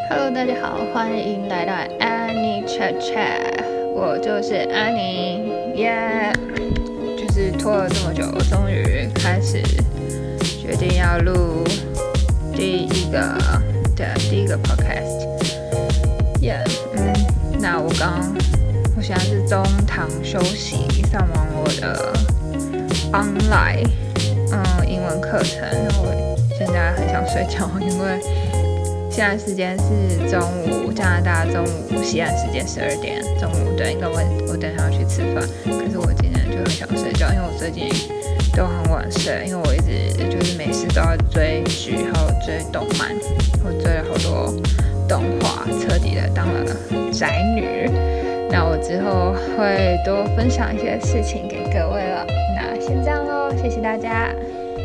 Hello，大家好，欢迎来到安妮 Chat Chat，我就是安妮，耶、就是拖了这么久，终于开始决定要录第一个 podcast，那我现在是中堂休息，上完我的 online 英文课程，我现在很想睡觉，因为现在时间是中午，加拿大中午，西岸时间12点，中午对，因为我等一下要去吃饭，可是我今天就很想睡觉，因为我最近都很晚睡，因为我一直就是没事都要追剧，还有追动漫，我追了好多动画，彻底的当了宅女。那我之后会多分享一些事情给各位了，那先这样咯，谢谢大家。